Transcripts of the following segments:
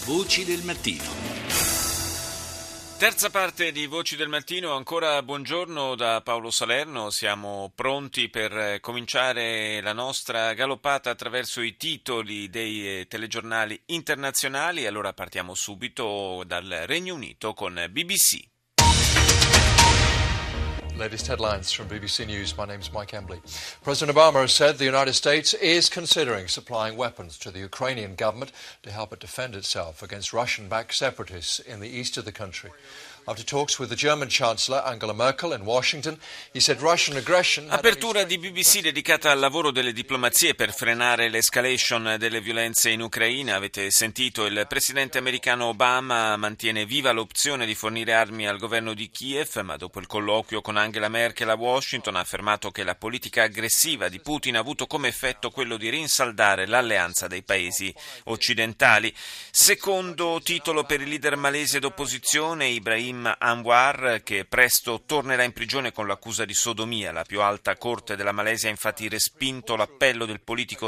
Voci del mattino. Terza parte di Voci del Mattino, ancora buongiorno da Paolo Salerno, siamo pronti per cominciare la nostra galoppata attraverso i titoli dei telegiornali internazionali. Allora partiamo subito dal Regno Unito con BBC. Latest headlines from BBC News. My name is Mike Embley. President Obama has said the United States is considering supplying weapons to the Ukrainian government to help it defend itself against Russian-backed separatists in the east of the country. After talks with the German Chancellor Angela Merkel in Washington, he said Russian aggression... Apertura di BBC dedicata al lavoro delle diplomazie per frenare l'escalation delle violenze in Ucraina. Avete sentito, il presidente americano Obama mantiene viva l'opzione di fornire armi al governo di Kiev, ma dopo il colloquio con Angela Merkel a Washington ha affermato che la politica aggressiva di Putin ha avuto come effetto quello di rinsaldare l'alleanza dei paesi occidentali. Secondo titolo per il leader malese d'opposizione, Ibrahim Anwar, che presto tornerà in prigione con l'accusa di sodomia. La più alta corte della Malesia ha infatti respinto l'appello del politico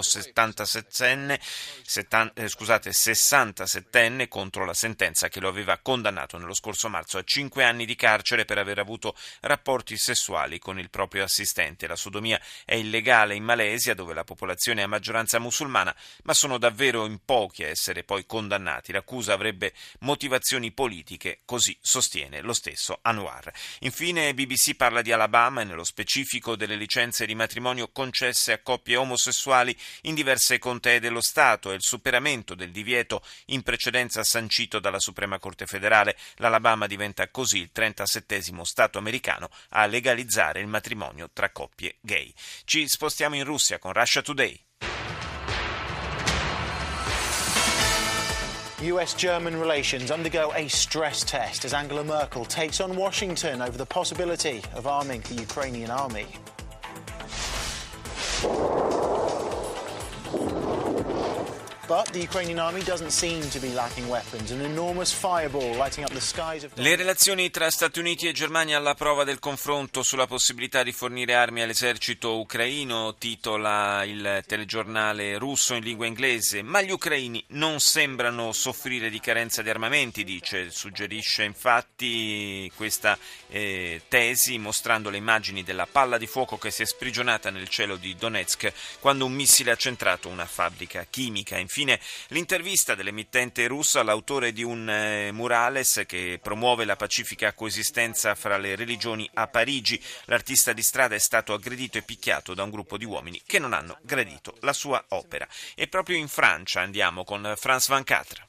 67enne contro la sentenza che lo aveva condannato nello scorso marzo a 5 anni di carcere per aver avuto rapporti sessuali con il proprio assistente. La sodomia è illegale in Malesia, dove la popolazione è a maggioranza musulmana, ma sono davvero in pochi a essere poi condannati. L'accusa avrebbe motivazioni politiche, così sostiene lo stesso Anwar. Infine BBC parla di Alabama e nello specifico delle licenze di matrimonio concesse a coppie omosessuali in diverse contee dello Stato e il superamento del divieto in precedenza sancito dalla Suprema Corte Federale. L'Alabama diventa così il 37° Stato americano a legalizzare il matrimonio tra coppie gay. Ci spostiamo in Russia con Russia Today. US-German relations undergo a stress test as Angela Merkel takes on Washington over the possibility of arming the Ukrainian army. But the Ukrainian army doesn't seem to be lacking weapons. An enormous fireball lighting up the skies of... Le relazioni tra Stati Uniti e Germania alla prova del confronto sulla possibilità di fornire armi all'esercito ucraino, titola il telegiornale russo in lingua inglese. Ma gli ucraini non sembrano soffrire di carenza di armamenti, suggerisce infatti questa tesi mostrando le immagini della palla di fuoco che si è sprigionata nel cielo di Donetsk quando un missile ha centrato una fabbrica chimica. Infine, l'intervista dell'emittente russa all'autore di un murales che promuove la pacifica coesistenza fra le religioni a Parigi. L'artista di strada è stato aggredito e picchiato da un gruppo di uomini che non hanno gradito la sua opera. E proprio in Francia andiamo con France 24.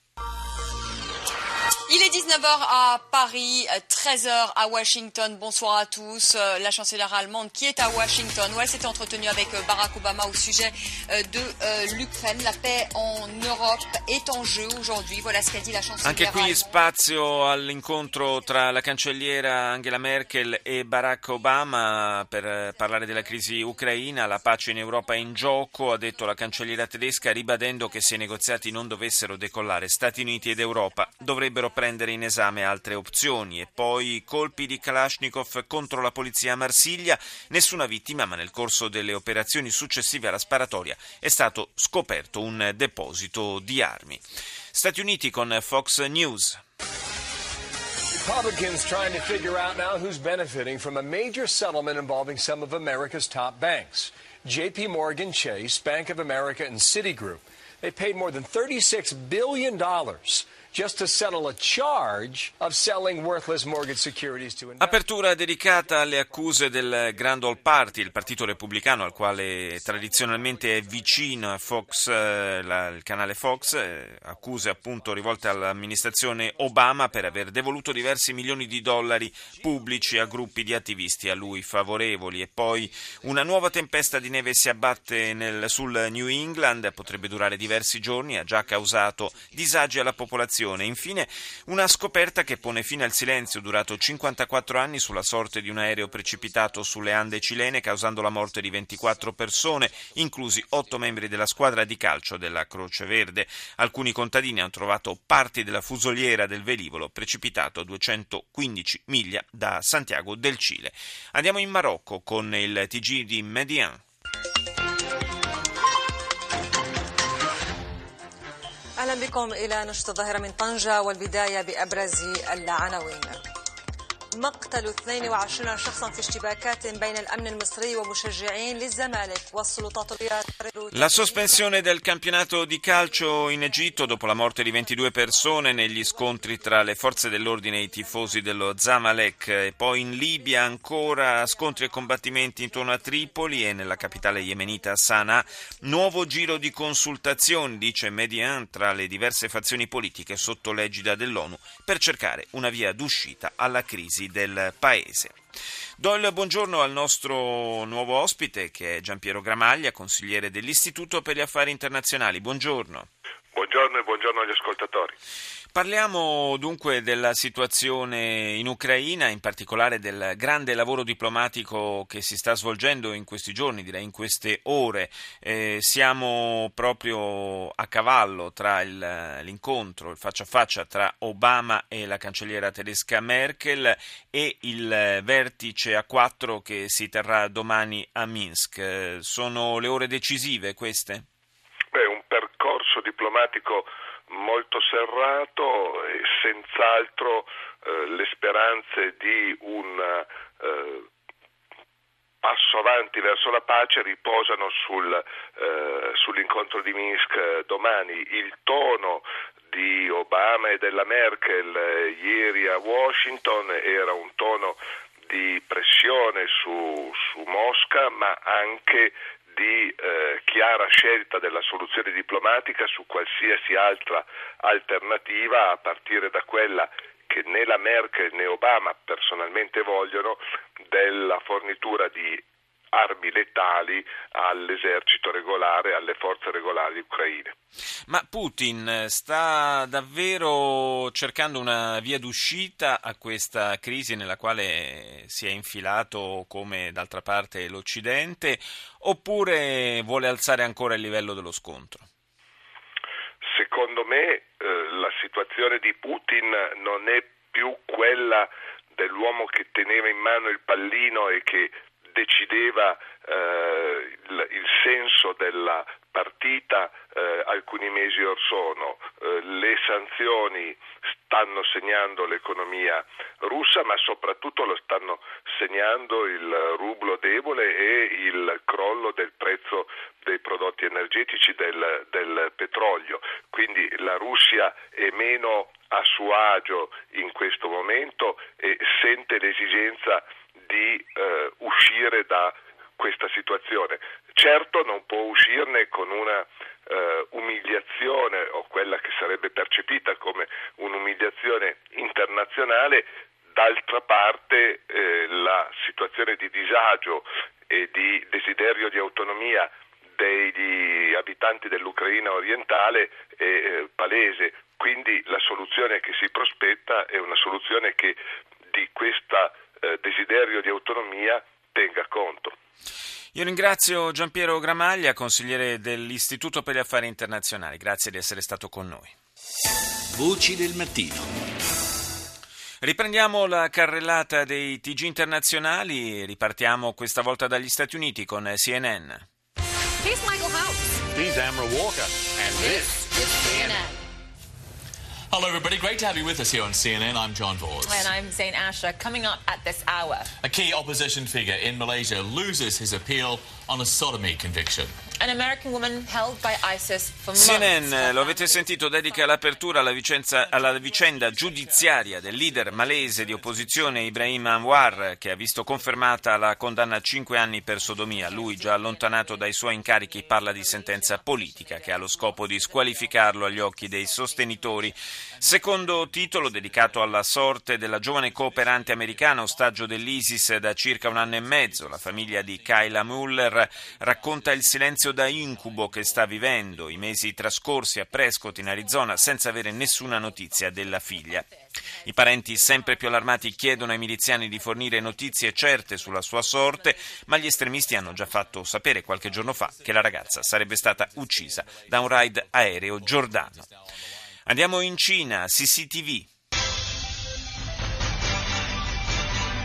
Il est 19h à Paris, 13h à Washington. Bonsoir à tous. La chancelière allemande qui est à Washington, où elle s'était entretenue avec Barack Obama au sujet de l'Ukraine. La paix en Europe est en jeu aujourd'hui. Voilà ce qu'a dit la chancelière. Anche qui spazio all'incontro tra la cancelliera Angela Merkel e Barack Obama per parlare della crisi ucraina. La pace in Europa è in gioco, ha detto la cancelliera tedesca, ribadendo che se i negoziati non dovessero decollare, Stati Uniti ed Europa dovrebbero prendere in esame altre opzioni. E poi colpi di Kalashnikov contro la polizia a Marsiglia, nessuna vittima, ma nel corso delle operazioni successive alla sparatoria è stato scoperto un deposito di armi. Stati Uniti con Fox News. Republicans trying to figure out now who's benefiting from a major settlement involving some of America's top banks. JP Morgan Chase, Bank of America and Citigroup. They paid more than $36 billion just to settle a charge of selling worthless mortgage securities to investors. Apertura dedicata alle accuse del Grand Old Party, il partito repubblicano al quale tradizionalmente è vicino a Fox, il canale Fox, accuse appunto rivolte all'amministrazione Obama per aver devoluto diversi milioni di dollari pubblici a gruppi di attivisti a lui favorevoli. E poi una nuova tempesta di neve si abbatte sul New England, potrebbe durare diversi giorni, ha già causato disagi alla popolazione. Infine, una scoperta che pone fine al silenzio durato 54 anni sulla sorte di un aereo precipitato sulle Ande cilene, causando la morte di 24 persone, inclusi 8 membri della squadra di calcio della Croce Verde. Alcuni contadini hanno trovato parti della fusoliera del velivolo precipitato a 215 miglia da Santiago del Cile. Andiamo in Marocco con il TG di Median. À la بكم إلى نشرة الظاهرة من طنجة والبداية بأبرز العناوين. مقتل 22 شخصا في اشتباكات بين الأمن المصري ومشجعين للزمالك والسلطات La sospensione del campionato di calcio in Egitto dopo la morte di 22 persone negli scontri tra le forze dell'ordine e i tifosi dello Zamalek, e poi in Libia ancora scontri e combattimenti intorno a Tripoli e nella capitale yemenita Sana'a, nuovo giro di consultazioni, dice Median, tra le diverse fazioni politiche sotto l'egida dell'ONU per cercare una via d'uscita alla crisi del paese. Do il buongiorno al nostro nuovo ospite, che è Giampiero Gramaglia, consigliere dell'Istituto per gli Affari Internazionali. Buongiorno. Buongiorno e buongiorno agli ascoltatori. Parliamo dunque della situazione in Ucraina, in particolare del grande lavoro diplomatico che si sta svolgendo in questi giorni, direi in queste ore. Siamo proprio a cavallo tra l'incontro, il faccia a faccia tra Obama e la cancelliera tedesca Merkel e il vertice A4 che si terrà domani a Minsk. Sono le ore decisive queste? Un percorso diplomatico molto serrato e senz'altro le speranze di un passo avanti verso la pace riposano sull'incontro di Minsk domani. Il tono di Obama e della Merkel ieri a Washington era un tono di pressione su Mosca, ma anche di chiara scelta della soluzione diplomatica su qualsiasi altra alternativa, a partire da quella che né la Merkel né Obama personalmente vogliono, della fornitura di armi letali all'esercito regolare, alle forze regolari ucraine. Ma Putin sta davvero cercando una via d'uscita a questa crisi nella quale si è infilato, come d'altra parte l'Occidente, oppure vuole alzare ancora il livello dello scontro? Secondo me la situazione di Putin non è più quella dell'uomo che teneva in mano il pallino e che decideva il senso della partita alcuni mesi or sono. Le sanzioni stanno segnando l'economia russa, ma soprattutto lo stanno segnando il rublo debole e il crollo del prezzo dei prodotti energetici, del petrolio. Quindi la Russia è meno a suo agio in questo momento e sente l'esigenza di uscire da questa situazione. Certo non può uscirne con una umiliazione, o quella che sarebbe percepita come un'umiliazione internazionale. D'altra parte la situazione di disagio e di desiderio di autonomia degli abitanti dell'Ucraina orientale è palese, quindi la soluzione che si prospetta è una soluzione che di questa desiderio di autonomia tenga conto. Io ringrazio Giampiero Gramaglia, consigliere dell'Istituto per gli Affari Internazionali. Grazie di essere stato con noi. Voci del mattino. Riprendiamo la carrellata dei TG internazionali, ripartiamo questa volta dagli Stati Uniti con CNN. Here's Michael House. He's Amber Walker. And this is CNN. Hello, everybody. Great to have you with us here on CNN. I'm John Vors. And I'm Zain Asher. Coming up at this hour, A key opposition figure in Malaysia loses his appeal on a sodomy conviction. an American woman held by ISIS for months. CNN, lo avete sentito, dedica l'apertura alla vicenda giudiziaria del leader malese di opposizione Ibrahim Anwar, che ha visto confermata la condanna a 5 anni per sodomia. Lui, già allontanato dai suoi incarichi, parla di sentenza politica che ha lo scopo di squalificarlo agli occhi dei sostenitori. Secondo titolo dedicato alla sorte della giovane cooperante americana, ostaggio dell'ISIS da circa 1 anno e mezzo. La famiglia di Kayla Mueller racconta il silenzio da incubo che sta vivendo, i mesi trascorsi a Prescott in Arizona senza avere nessuna notizia della figlia. I parenti, sempre più allarmati, chiedono ai miliziani di fornire notizie certe sulla sua sorte, ma gli estremisti hanno già fatto sapere qualche giorno fa che la ragazza sarebbe stata uccisa da un raid aereo giordano. Andiamo in Cina, CCTV.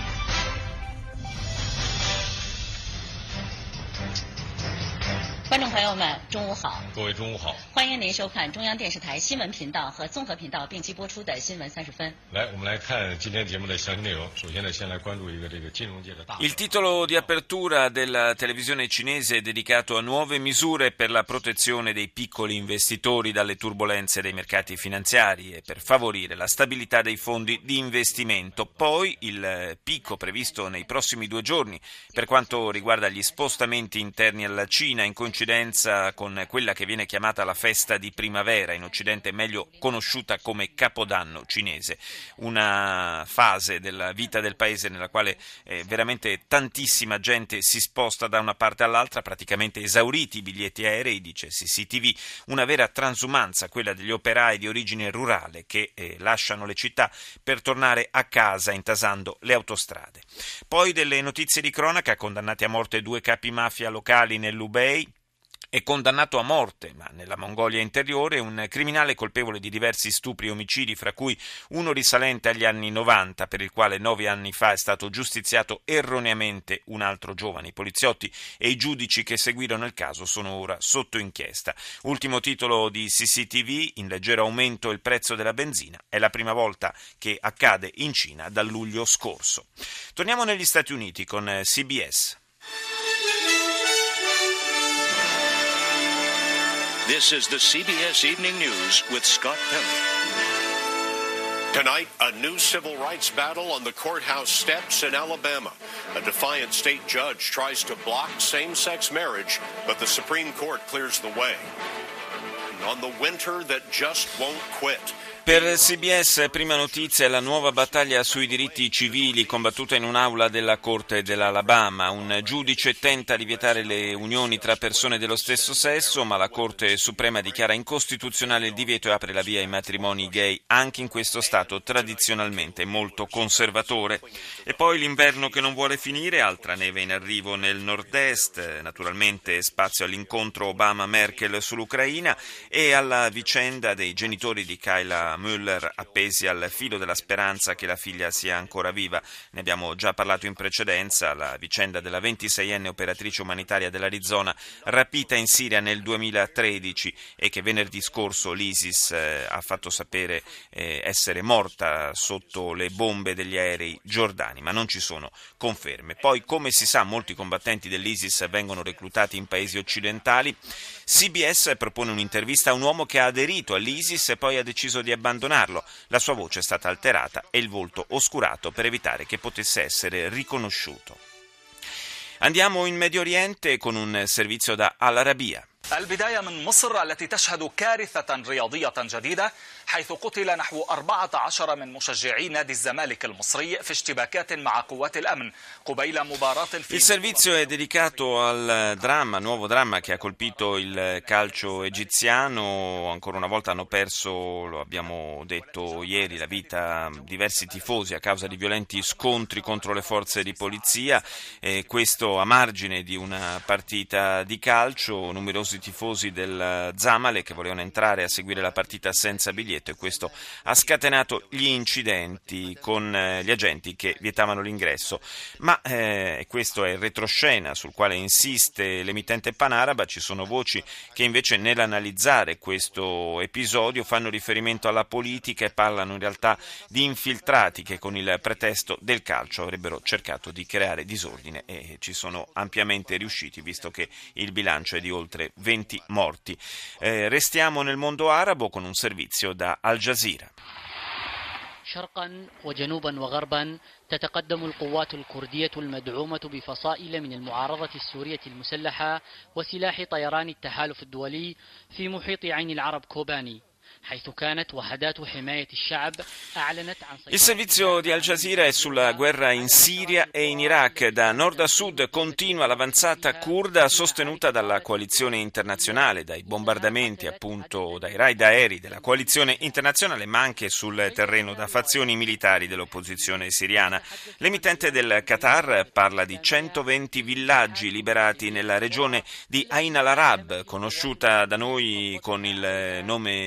Bueno, 朋友们，中午好。 各位中午好。 欢迎您收看中央电视台新闻频道和综合频道并机播出的新闻30分。 来，我们来看今天节目的详细内容。首先呢，先来关注一个这个金融界的大。 Il titolo di apertura della televisione cinese è dedicato a nuove misure per la protezione dei piccoli investitori dalle turbolenze dei mercati finanziari e per favorire la stabilità dei fondi di investimento. Poi il picco previsto nei prossimi 2 giorni per quanto riguarda gli spostamenti interni alla Cina, in coincidenza con quella che viene chiamata la festa di primavera, in Occidente meglio conosciuta come Capodanno cinese, una fase della vita del paese nella quale veramente tantissima gente si sposta da una parte all'altra, praticamente esauriti i biglietti aerei, dice CCTV, una vera transumanza, quella degli operai di origine rurale che lasciano le città per tornare a casa intasando le autostrade. Poi delle notizie di cronaca: condannati a morte 2 capi mafia locali nell'Hubei. È condannato a morte, ma nella Mongolia interiore, un criminale colpevole di diversi stupri e omicidi, fra cui uno risalente agli anni 90, per il quale 9 anni fa è stato giustiziato erroneamente un altro giovane. I poliziotti e i giudici che seguirono il caso sono ora sotto inchiesta. Ultimo titolo di CCTV: in leggero aumento il prezzo della benzina. È la prima volta che accade in Cina dal luglio scorso. Torniamo negli Stati Uniti con CBS. This is the CBS Evening News with Scott Pelley. Tonight, a new civil rights battle on the courthouse steps in Alabama. A defiant state judge tries to block same-sex marriage, but the Supreme Court clears the way. On the winter that just won't quit. Per CBS, prima notizia è la nuova battaglia sui diritti civili combattuta in un'aula della Corte dell'Alabama. Un giudice tenta di vietare le unioni tra persone dello stesso sesso, ma la Corte Suprema dichiara incostituzionale il divieto e apre la via ai matrimoni gay, anche in questo stato tradizionalmente molto conservatore. E poi l'inverno che non vuole finire, altra neve in arrivo nel nord-est, naturalmente spazio all'incontro Obama-Merkel sull'Ucraina e alla vicenda dei genitori di Kayla Müller appesi al filo della speranza che la figlia sia ancora viva. Ne abbiamo già parlato in precedenza, la vicenda della 26enne operatrice umanitaria dell'Arizona rapita in Siria nel 2013 e che venerdì scorso l'ISIS ha fatto sapere essere morta sotto le bombe degli aerei giordani, ma non ci sono conferme. Poi, come si sa, molti combattenti dell'ISIS vengono reclutati in paesi occidentali. CBS propone un'intervista a un uomo che ha aderito all'ISIS e poi ha deciso di abbandonarlo. La sua voce è stata alterata e il volto oscurato per evitare che potesse essere riconosciuto. Andiamo in Medio Oriente con un servizio da Al Arabiya. البداية من مصر التي تشهد كارثة رياضية جديدة حيث قتل نحو 14 من مشجعي نادي الزمالك المصري في اشتباكات مع قوات الأمن قبيل مباراة Il servizio è dedicato al nuovo dramma che ha colpito il calcio egiziano. Ancora una volta hanno perso, lo abbiamo detto ieri, la vita diversi tifosi a causa di violenti scontri contro le forze di polizia, questo a margine di una partita di calcio. Numerosi tifosi del Zamalek che volevano entrare a seguire la partita senza biglietto e questo ha scatenato gli incidenti con gli agenti che vietavano l'ingresso. Ma questo è il retroscena sul quale insiste l'emittente panaraba. Ci sono voci che invece nell'analizzare questo episodio fanno riferimento alla politica e parlano in realtà di infiltrati che con il pretesto del calcio avrebbero cercato di creare disordine e ci sono ampiamente riusciti, visto che il bilancio è di oltre 20 morti. Restiamo nel mondo arabo con un servizio da Al Jazeera. شرقا وجنوبا وغربا تتقدم القوات الكردية المدعومة بفصائل من المعارضة السورية المسلحة وسلاح طيران التحالف الدولي في محيط عين العرب كوباني. Il servizio di Al Jazeera è sulla guerra in Siria e in Iraq. Da nord a sud continua l'avanzata curda sostenuta dalla coalizione internazionale, dai bombardamenti appunto dai raid aerei della coalizione internazionale, ma anche sul terreno da fazioni militari dell'opposizione siriana. L'emittente del Qatar parla di 120 villaggi liberati nella regione di Ain al-Arab, conosciuta da noi con il nome curdo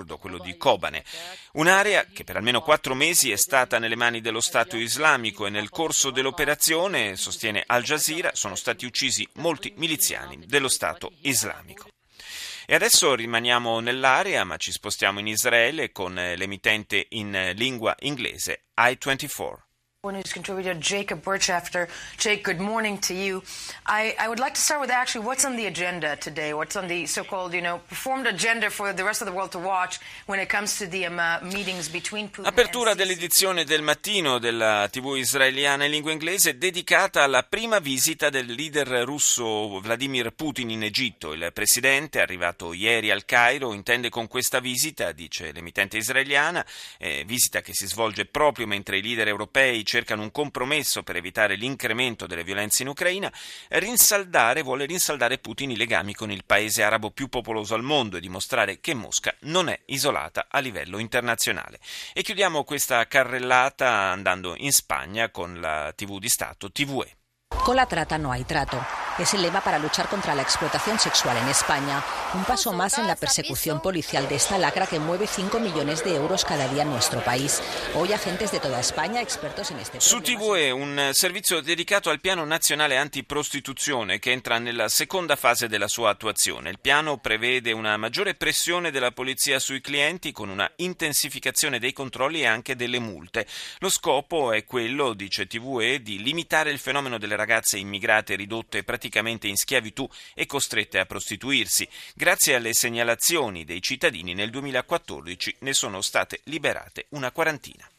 kurdo, quello di Kobane. Un'area che per almeno 4 mesi è stata nelle mani dello Stato islamico e nel corso dell'operazione, sostiene Al Jazeera, sono stati uccisi molti miliziani dello Stato islamico. E adesso rimaniamo nell'area, ma ci spostiamo in Israele con l'emittente in lingua inglese I24. News contributor Jacob Burchafter. Jake, good morning to you. I would like to start with actually what's on the agenda today, what's on the so-called, performed agenda for the rest of the world to watch when it comes to the meetings between Putin Apertura and dell'edizione del mattino della TV israeliana in lingua inglese dedicata alla prima visita del leader russo Vladimir Putin in Egitto. Il presidente, arrivato ieri al Cairo, intende con questa visita, dice l'emittente israeliana, visita che si svolge proprio mentre i leader europei cercano un compromesso per evitare l'incremento delle violenze in Ucraina, vuole rinsaldare Putin i legami con il paese arabo più popoloso al mondo e dimostrare che Mosca non è isolata a livello internazionale. E chiudiamo questa carrellata andando in Spagna con la TV di Stato TVE. Con la trata no hay trato. Es el lema para luchar contra la explotación sexual en España. Un paso más en la persecución policial de esta lacra que mueve 5 millones de euros cada día en nuestro país. Hoy agentes de toda España, expertos en este Su TVE un servizio dedicato al piano nazionale antiprostituzione che entra nella seconda fase della sua attuazione. Il piano prevede una maggiore pressione della polizia sui clienti con una intensificazione dei controlli e anche delle multe. Lo scopo è quello, dice TVE, di limitare il fenomeno delle ragazze immigrate ridotte praticamente in schiavitù e costrette a prostituirsi. Grazie alle segnalazioni dei cittadini nel 2014 ne sono state liberate una quarantina.